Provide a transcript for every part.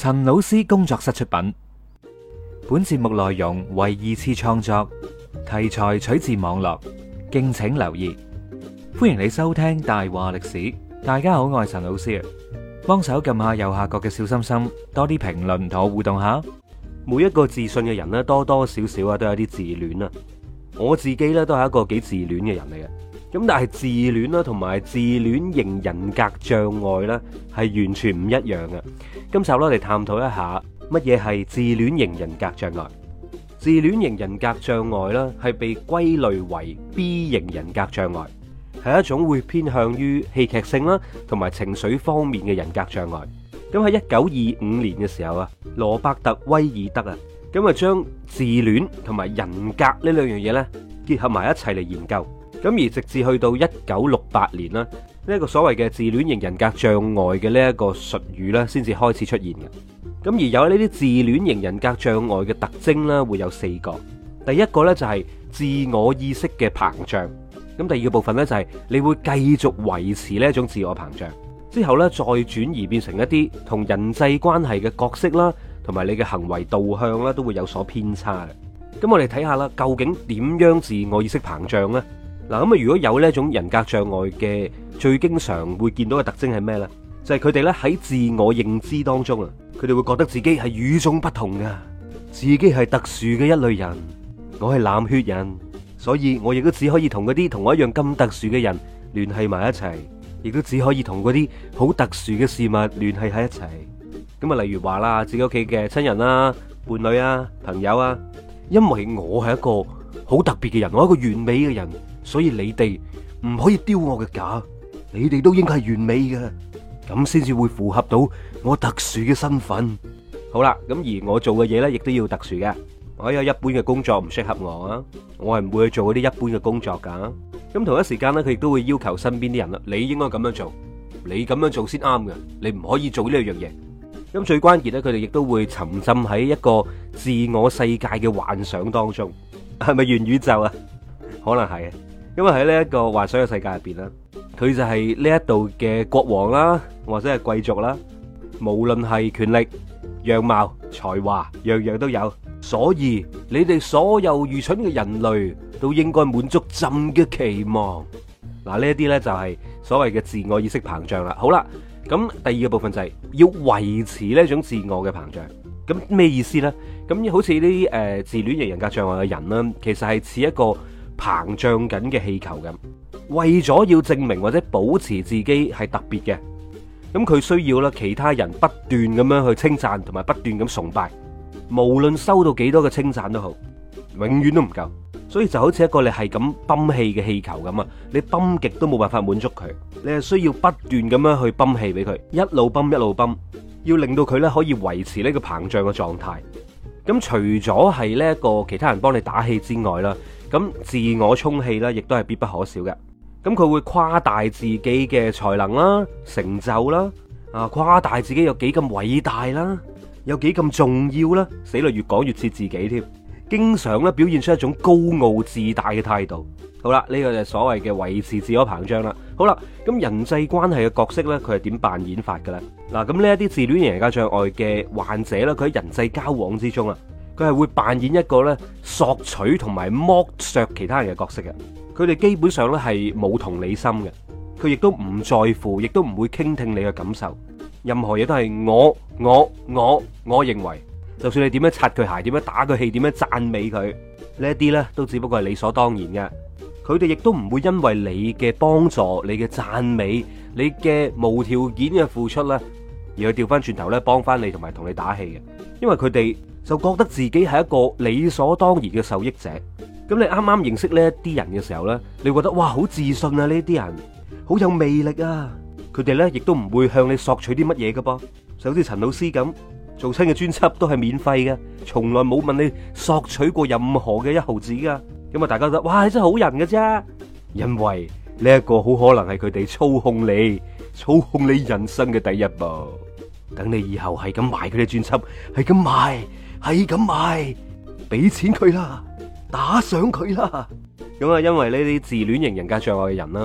陳老師工作室出品，本節目內容為二次創作，題材取自網絡，敬請留意。歡迎你收聽大話歷史。大家好，我係陳老師啊，幫手撳下右下角嘅小心心，多啲評論同我互動下。 每一個自信嘅人咧，多多少少啊都有啲自戀啊。我自己咧都係一個幾自戀嘅人嚟嘅。咁但係自戀啦，同埋自戀型人格障礙咧，係完全唔一樣嘅。今集咧，我哋探討一下乜嘢係自戀型人格障礙。自戀型人格障礙咧，係被歸類為 B 型人格障礙，係一種會偏向於戲劇性啦，同埋情緒方面嘅人格障礙。咁喺1925年嘅時候啊，羅伯特威爾德啊，咁啊將自戀同埋人格呢兩樣嘢咧結合埋一齊嚟研究。咁而直至去到1968年啦，呢一個所謂嘅自戀型人格障礙嘅呢一個術語咧，先至開始出現嘅。咁而有呢啲自戀型人格障礙嘅特徵咧，會有4個。第一個咧就係自我意識嘅膨脹。咁第二個部分咧就係你會繼續維持呢一種自我膨脹，之後咧再轉移變成一啲同人際關係嘅角色啦，同埋你嘅行為導向啦，都會有所偏差嘅。咁我哋睇下啦，究竟點樣自我意識膨脹呢？嗱，咁啊，如果有呢一種人格障礙嘅，最經常會見到嘅特徵係咩呢？就係佢哋咧喺自我認知當中啊，佢哋會覺得自己係與眾不同噶，自己係特殊嘅一類人。我係藍血人，所以我亦都只可以同嗰啲同我一樣咁特殊嘅人聯繫埋一齊，亦都只可以同嗰啲好特殊嘅事物聯繫喺一齊。咁啊，例如話啦，自己屋企嘅親人啦、伴侶啊、朋友啊，因為我係一個好特別嘅人，我係一個完美嘅人。所以你哋唔可以丟我嘅架，你哋都應該係完美嘅，咁先至會符合到我特殊嘅身份。好啦，咁而我做嘅嘢呢，亦都要特殊嘅。我有一般嘅工作唔適合我啊，我係唔會去做嗰啲一般嘅工作噶。咁同一時間呢，佢亦都會要求身邊啲人啦，你應該咁樣做，你咁樣做先啱嘅，你唔可以做呢樣嘢。咁最關鍵呢，佢哋亦都會沉浸喺一個自我世界嘅幻想當中，係咪元宇宙啊？可能係。因為喺呢一個幻想嘅世界入邊啦，佢就係呢一度嘅國王啦，或者係貴族啦，無論係權力、樣貌、才華，樣樣都有。所以你哋所有愚蠢嘅人類都應該滿足朕嘅期望。嗱，呢一啲呢就係所謂嘅自我意識膨脹啦。好啦，咁第二個部分就係要維持呢一種自我嘅膨脹。咁咩意思呢？咁好似呢啲自戀型人格障礙嘅人啦，其實係似一個膨脹緊嘅氣球咁，為咗要證明或者保持自己係特別嘅，咁佢需要啦其他人不斷咁樣去稱讚同埋不斷咁崇拜，無論收到幾多嘅稱讚都好，永遠都唔夠，所以就好似一個你係咁泵氣嘅氣球咁啊，你泵極都冇辦法滿足佢，你係需要不斷咁樣去泵氣俾佢，一路泵一路泵，要令到佢咧可以維持呢個膨脹嘅狀態。咁除咗係呢一個其他人幫你打氣之外啦，咁自我充氣咧，亦都係必不可少嘅。咁佢會誇大自己嘅才能啦、成就啦，誇大自己有幾咁偉大啦，有幾咁重要啦，死啦，越講越似自己添。經常咧表現出一種高傲自大嘅態度。好啦，呢個就係所謂嘅維持自我膨脹啦。好啦，咁人際關係嘅角色咧，佢係點扮演法嘅咧？嗱，咁呢一啲自戀型人格障礙嘅患者咧，佢喺人際交往之中啊，佢係會扮演一個咧索取同埋剝削其他人嘅角色嘅。佢哋基本上咧係冇同理心嘅，佢亦都唔在乎，亦都唔會傾聽你嘅感受。任何嘢都係我認為，就算你點樣擦佢鞋，點樣打佢氣，點樣讚美佢，呢一啲咧都只不過係理所當然嘅。佢哋亦都唔會因為你嘅幫助、你嘅讚美、你嘅無條件嘅付出咧，而去調翻轉頭咧幫翻你同埋同你打氣嘅。因為佢哋就覺得自己係一個理所當然嘅受益者。咁你啱啱認識呢一啲人嘅時候咧，你覺得哇好自信啊，呢啲人好有魅力啊。佢哋咧亦都唔會向你索取啲乜嘢噶噃，就好似陳老師咁做親嘅專輯都係免費嘅，從來冇問你索取過任何嘅一毫子噶。咁啊，大家覺得哇，你真係好人嘅啫，因為呢一個好可能係佢哋操控你人生嘅第一步。等你以後係咁賣佢哋專輯，係咁賣，俾錢佢啦，打賞佢啦。咁啊，因為呢啲自戀型人格障礙嘅人啦，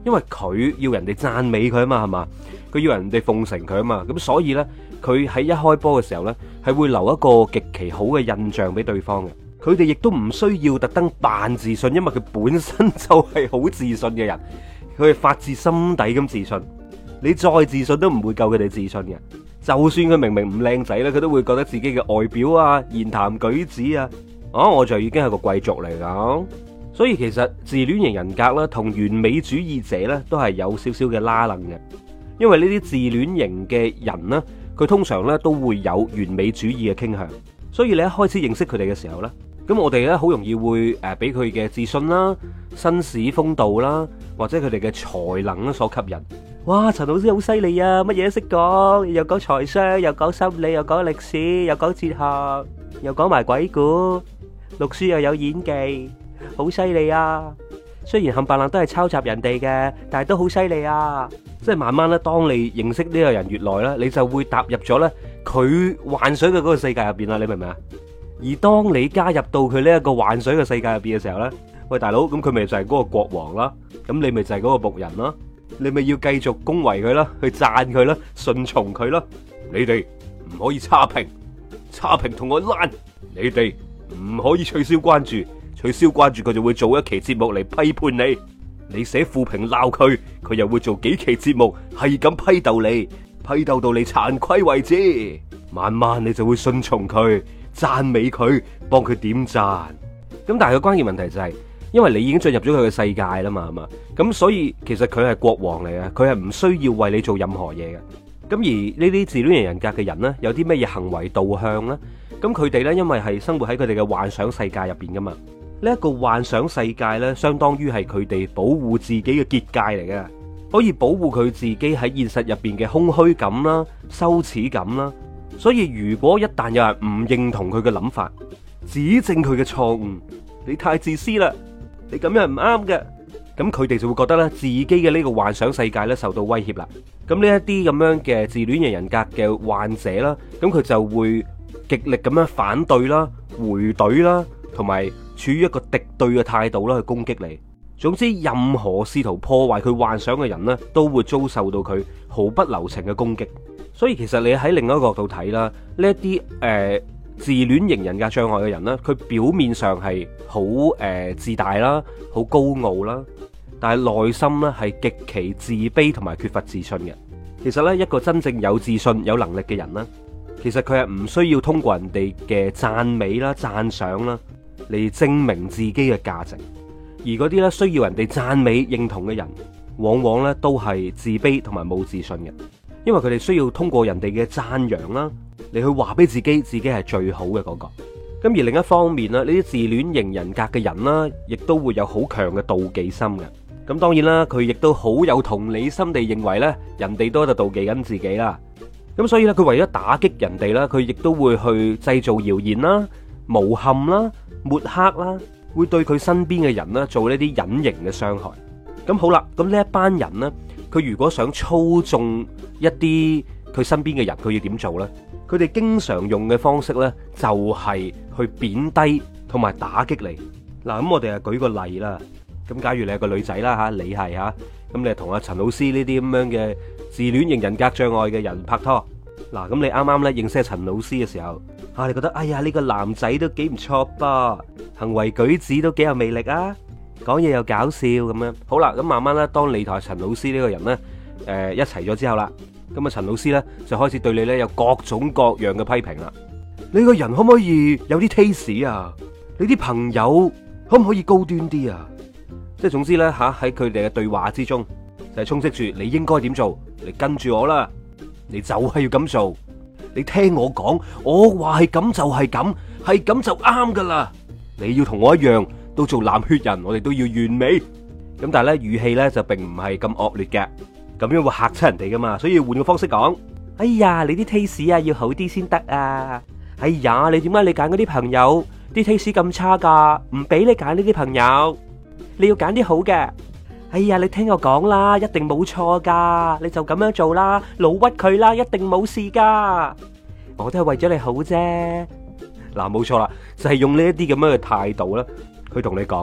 因為佢要人哋讚美佢啊嘛，係嘛？佢要人哋奉承佢啊嘛，咁所以呢，佢喺一開波嘅時候呢，係會留一個極其好嘅印象俾對方嘅。佢哋亦都唔需要特登扮自信，因為佢本身就係好自信嘅人，佢係發自心底咁自信。你再自信都唔會夠佢哋自信嘅。就算佢明明唔靚仔咧，佢都會覺得自己嘅外表啊、言談舉止啊，我就已經係個貴族嚟㗎。所以其實自戀型人格啦，同完美主義者咧都係有少少嘅拉楞嘅。因為呢啲自戀型嘅人呢，佢通常咧都會有完美主義嘅傾向。所以你一開始認識佢哋嘅時候咧，咁我哋咧好容易會俾佢嘅自信啦、紳士風度啦，或者佢哋嘅才能所吸引。哇，陳老師好犀利啊，乜嘢都識講，又講財商，又講心理，又講歷史，又講哲學，又講埋鬼故，讀書又有演技，好犀利啊！雖然冚唪唥都係抄襲人哋嘅，但係都好犀利啊！即係慢慢咧，當你認識呢個人越耐咧，你就會踏入咗咧佢幻想嘅嗰個世界入邊啦，你明唔明啊？而當你加入到佢呢一個幻想嘅世界入邊嘅時候咧，喂大佬，咁佢咪就係嗰個國王啦，咁你咪就係嗰個僕人啦，你咪要繼續恭維佢啦，去讚佢啦，順從佢啦。你哋唔可以差評，差評同我爛。你哋唔可以取消關注，取消關注佢就會做一期節目嚟批判你。你寫負評鬧佢，佢又會做幾期節目係咁批鬥你，批鬥到你慚愧為止。慢慢你就會順從佢，讚美佢，幫佢點讚。咁但係個關鍵問題就係，因為你已經進入咗佢嘅世界啦嘛，係嘛？咁所以其實佢係國王嚟嘅，佢係唔需要為你做任何嘢嘅。咁而呢啲自戀型人格嘅人呢，有啲咩嘢行為導向呢？咁佢哋呢，因為係生活喺佢哋嘅幻想世界入邊噶嘛。呢一個幻想世界呢，相當於係佢哋保護自己嘅結界嚟嘅，可以保護佢自己喺現實入邊嘅空虛感啦、羞恥感啦。所以如果一旦有人唔認同佢嘅諗法，指正佢嘅錯誤，你太自私啦，你咁樣唔啱嘅，咁佢哋就會覺得咧自己嘅呢個幻想世界咧受到威脅啦。咁呢一啲咁樣嘅自戀型人格嘅患者啦，咁佢就會極力咁樣反對啦、回懟啦，同埋處於一個敵對嘅態度啦去攻擊你。總之，任何試圖破壞佢幻想嘅人呢，都會遭受到佢毫不留情嘅攻擊。所以其實你喺另一個角度睇啦，呢一啲自戀型人格障礙嘅人呢，佢表面上係好自大啦，好高傲啦，但係內心呢係極其自卑同埋缺乏自信嘅。其實呢，一個真正有自信、有能力嘅人呢，其實佢係唔需要通過人哋嘅讚美啦、讚賞啦嚟證明自己嘅價值。而嗰啲咧需要人哋讚美認同嘅人，往往咧都係自卑同埋冇自信嘅，因為佢哋需要通過人哋嘅讚揚啦，嚟去話俾自己係最好嘅嗰個。咁而另一方面啦，呢啲自戀型人格嘅人啦，亦都會有好強嘅妒忌心嘅。咁當然啦，佢亦都好有同理心地認為咧，人哋都喺度妒忌緊自己啦。咁所以咧，佢為咗打擊人哋啦，佢亦都會去製造謠言啦、誣陷啦、抹黑啦。會對佢身邊嘅人呢做呢啲隱形嘅傷害。咁好啦，咁呢一班人呢，佢如果想操縱一啲佢身邊嘅人，佢要點做呢？佢哋經常用嘅方式呢，就係去貶低同埋打擊你。嗱，咁我哋啊舉個例啦。咁假如你係個女仔啦吓，你係吓，咁你同阿陳老師呢啲咁樣嘅自戀型人格障礙嘅人拍拖。嗱，咁你啱啱咧認識陳老師嘅時候，你覺得哎呀呢個男仔都幾唔錯噃，行為舉止都幾有魅力啊，講嘢又搞笑咁樣。好啦，咁慢慢咧，當你同陳老師呢個人咧，一齊咗之後啦，咁啊陳老師咧就開始對你咧有各種各樣嘅批評啦。你個人可唔可以有啲 taste 啊？你啲朋友可唔可以高端啲啊？即係總之咧吓，喺佢哋嘅對話之中，就係充斥住你應該點做，你跟住我啦。你就係要咁做，你聽我講，我話係咁就係咁，係咁就啱噶啦。你要同我一樣，都做藍血人，我哋都要完美。咁但係咧語氣咧就並唔係咁惡劣嘅，咁樣會嚇親人哋噶嘛。所以要換個方式講，哎呀，你啲 taste 啊要好啲先得啊。哎呀，你點解你揀嗰啲朋友啲 taste 咁差噶？唔俾你揀呢啲朋友，你要揀啲好嘅。哎呀，你聽我講啦，一定冇錯噶，你就咁樣做啦，老屈佢啦，一定冇事噶，我都係為咗你好啫。嗱，冇錯啦，就係用呢一啲咁樣嘅態度啦，去同你講，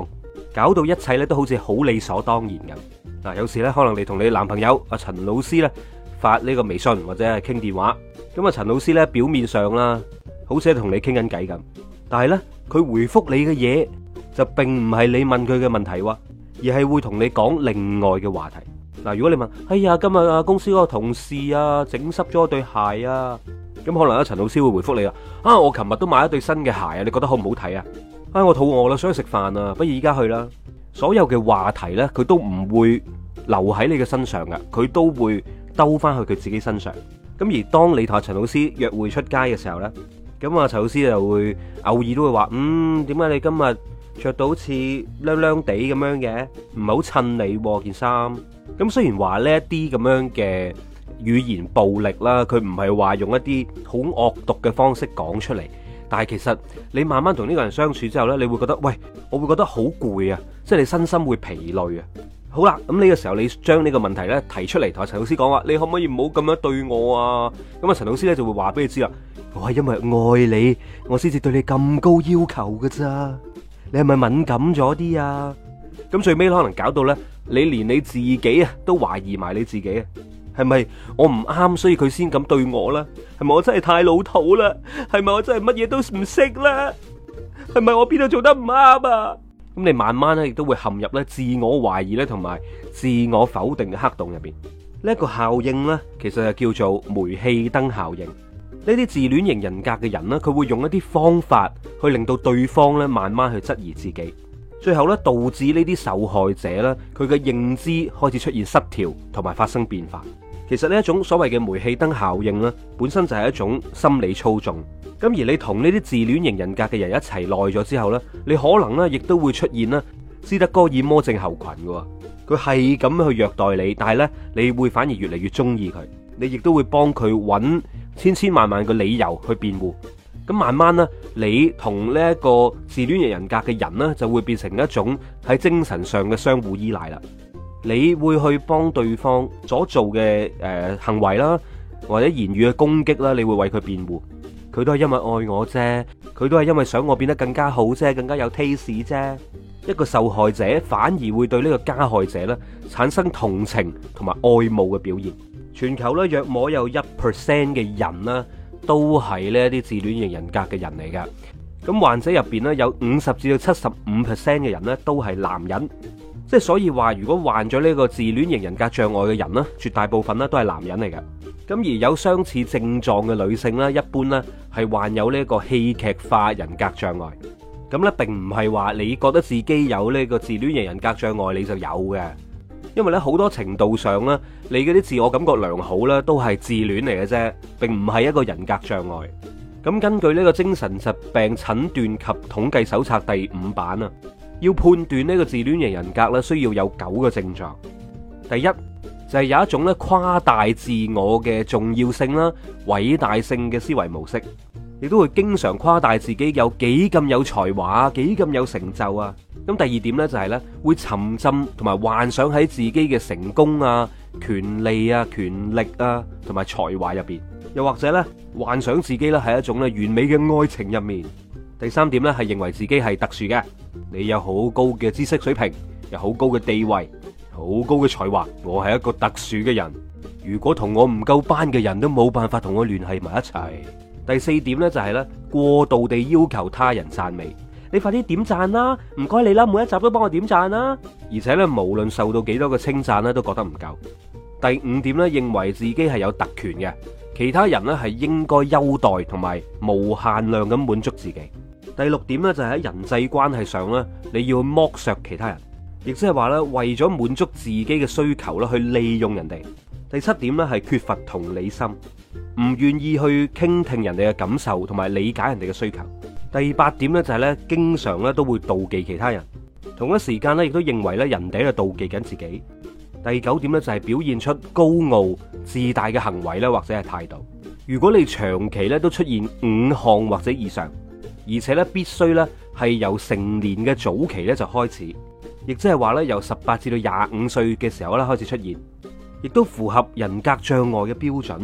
搞到一切咧都好似好理所當然咁。嗱，有時咧可能你同你男朋友阿陳老師咧發呢個微信或者係傾電話，咁啊陳老師咧表面上啦，好似係同你傾緊偈咁，但係咧佢回覆你嘅嘢就並唔係你問佢嘅問題喎，而係會同你講另外嘅話題。嗱，如果你問，哎呀，今日啊公司嗰個同事啊整濕咗對鞋啊，咁可能阿陳老師會回覆你啊，我琴日都買一對新嘅鞋啊，你覺得好唔好睇啊？我肚餓啦，想去食飯啊，不如依家去啦。所有嘅話題呢，佢都唔會留喺你嘅身上噶，佢都會兜翻去佢自己身上。咁而當你同阿陳老師約會出街嘅時候呢，咁啊陳老師就會偶爾都會話，點解你今日着到好似靚靚地咁樣嘅，唔係好襯你件衫。咁雖然話呢一啲咁樣嘅語言暴力啦，佢唔係話用一啲好惡毒嘅方式講出嚟，但係其實你慢慢同呢個人相處之後呢，你會覺得，喂，我會覺得好攰啊，即係你身心會疲累啊。好啦，咁呢個時候你將呢個問題呢提出嚟，同阿陳老師講話，你可唔可以唔好咁樣對我啊？咁啊陳老師呢就會話俾你知啦，我係因為愛你，我先至對你咁高要求噶咋，你係咪敏感咗啲啊？咁最尾可能搞到呢，你連你自己啊都懷疑埋你自己啊，係咪我唔啱，所以佢先咁對我啦？係咪我真係太老土啦？係咪我真係乜嘢都唔識啦？係咪我邊度做得唔啱啊？咁你慢慢咧亦都會陷入咧自我懷疑咧同埋自我否定嘅黑洞入邊。呢一個效應呢，其實就叫做煤氣燈效應。呢啲自戀型人格嘅人呢，佢會用一啲方法去令到對方咧慢慢去質疑自己。最後咧，導致呢啲受害者咧，佢嘅認知開始出現失調，同埋發生變化。其實呢一種所謂嘅煤氣燈效應咧，本身就係一種心理操縱。咁而你同呢啲自戀型人格嘅人一齊耐咗之後咧，你可能咧亦都會出現咧斯德哥爾摩症候群嘅。佢係咁去虐待你，但係咧你會反而越嚟越中意佢，你亦都會幫佢揾千千萬萬個理由去辯護。咁慢慢咧，你同呢一個自戀型人格嘅人呢，就會變成一種喺精神上嘅相互依賴啦。你會去幫對方所做嘅行為啦，或者言語嘅攻擊啦，你會為佢辯護。佢都係因為愛我啫，佢都係因為想我變得更加好啫，更加有 taste 啫。一個受害者反而會對呢個加害者咧產生同情同埋愛慕嘅表現。全球咧約莫有1% 嘅人啦，都係呢一啲自戀型人格嘅人嚟噶。咁患者入邊咧有50至到75%嘅人咧都係男人，即係所以話如果患咗呢個自戀型人格障礙嘅人咧，絕大部分咧都係男人嚟噶。咁而有相似症狀嘅女性咧，一般咧係患有呢個戲劇化人格障礙。咁咧並唔係話你覺得自己有呢個自戀型人格障礙你就有嘅，因為咧好多程度上咧，你嗰啲自我感覺良好咧都係自戀嚟嘅啫，並唔係一個人格障礙。咁根據呢個精神疾病診斷及統計手冊第5版啊，要判斷呢個自戀型人格咧，需要有9個症狀。第一就係有一種咧誇大自我嘅重要性啦、偉大性嘅思維模式，亦都會經常誇大自己有幾咁有才華、幾咁有成就啊。咁第二點呢，就係咧會沉浸同埋幻想喺自己嘅成功啊、權利啊、權力啊同埋才華入邊，又或者咧幻想自己咧係一種咧完美嘅愛情入面。第三點咧係認為自己係特殊嘅，你有好高嘅知識水平，有好高嘅地位，好高嘅才華，我係一個特殊嘅人。如果同我唔夠班嘅人都冇辦法同我聯繫埋一齊。第四點呢，就係咧過度地要求他人讚美，你快啲點讚啦，唔該你啦，每一集都幫我點讚啦。而且咧無論受到幾多嘅稱讚咧，都覺得唔夠。第五點咧，認為自己係有特權嘅，其他人咧係應該優待同埋無限量咁滿足自己。第六點咧，就係喺人際關係上咧，你要剝削其他人，亦即係話咧為咗滿足自己嘅需求咧去利用人哋。第七點咧係缺乏同理心，唔願意去傾聽人哋嘅感受同埋理解人哋嘅需求。第八點咧就係咧經常咧都會妒忌其他人，同一時間咧亦都認為咧人哋喺度妒忌緊自己。第九點咧就係表現出高傲自大嘅行為咧或者係態度。如果你長期咧都出現5項或者以上，而且咧必須咧係由成年嘅早期咧就開始，亦即係話咧由18至到25歲嘅時候咧開始出現，亦都符合人格障礙嘅標準，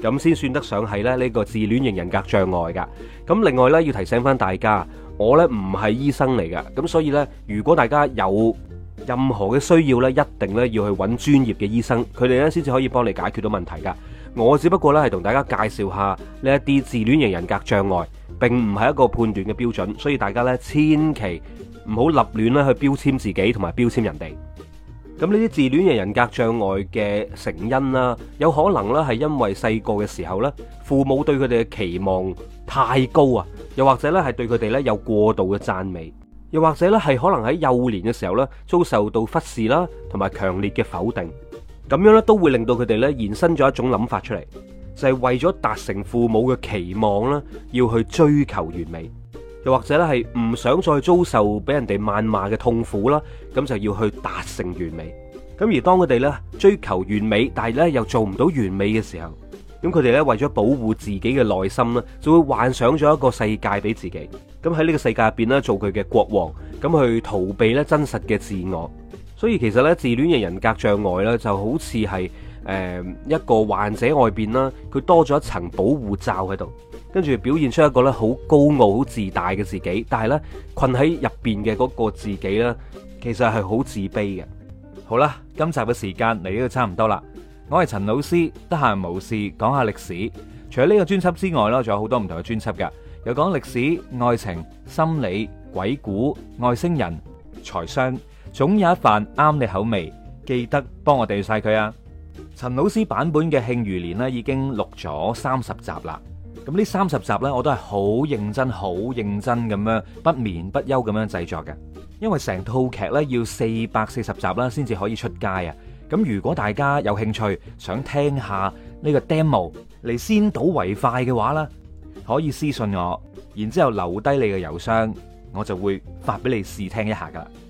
咁先算得上係咧呢個自戀型人格障礙噶。咁另外呢，要提醒翻大家，我呢唔係醫生嚟噶，咁所以呢，如果大家有任何嘅需要呢，一定呢要去揾專業嘅醫生，佢哋呢先至可以幫你解決到問題噶。我只不過呢係同大家介紹下呢一啲自戀型人格障礙，並唔係一個判斷嘅標準，所以大家呢千祈唔好立亂咧去標籤自己同埋標籤人哋。咁呢啲自戀型人格障礙嘅成因啦，有可能咧係因為細個嘅時候咧，父母對佢哋嘅期望太高啊，又或者咧係對佢哋咧有過度嘅讚美，又或者咧係可能喺幼年嘅時候咧遭受到忽視啦，同埋強烈嘅否定，咁樣咧都會令到佢哋咧延伸咗一種諗法出嚟，就係為咗達成父母嘅期望啦，要去追求完美。又或者咧係唔想再遭受俾人哋謾罵嘅痛苦啦，咁就要去達成完美。咁而當佢哋咧追求完美，但係咧又做唔到完美嘅時候，咁佢哋咧為咗保護自己嘅內心咧，就會幻想咗一個世界俾自己。咁喺呢個世界入邊咧做佢嘅國王，咁去逃避咧真實嘅自我。所以其實咧自戀型人格障礙咧就好似係一個患者外邊啦，佢多咗一層保護罩喺度。跟住表現出一個咧好高傲、好自大嘅自己，但係咧困喺入邊嘅嗰個自己咧，其實係好自卑嘅。好啦，今集嘅時間嚟到差唔多啦。我係陳老師，得閒無事講下歷史。除咗呢個專輯之外啦，仲有好多唔同嘅專輯噶，有講歷史、愛情、心理、鬼故、外星人、財商，總有一瓣啱你口味。記得幫我訂閱晒佢啊！陳老師版本嘅《慶餘年》咧已經錄咗30集啦。咁呢30集呢，我都係好認真咁樣不眠不休咁樣製作嘅，因為成套劇呢要440集啦，先至可以出街啊。咁如果大家有興趣想聽下呢個 demo 嚟先睹為快嘅話呢，可以私信我，然之後留低你嘅郵箱，我就會發俾你試聽一下噶啦。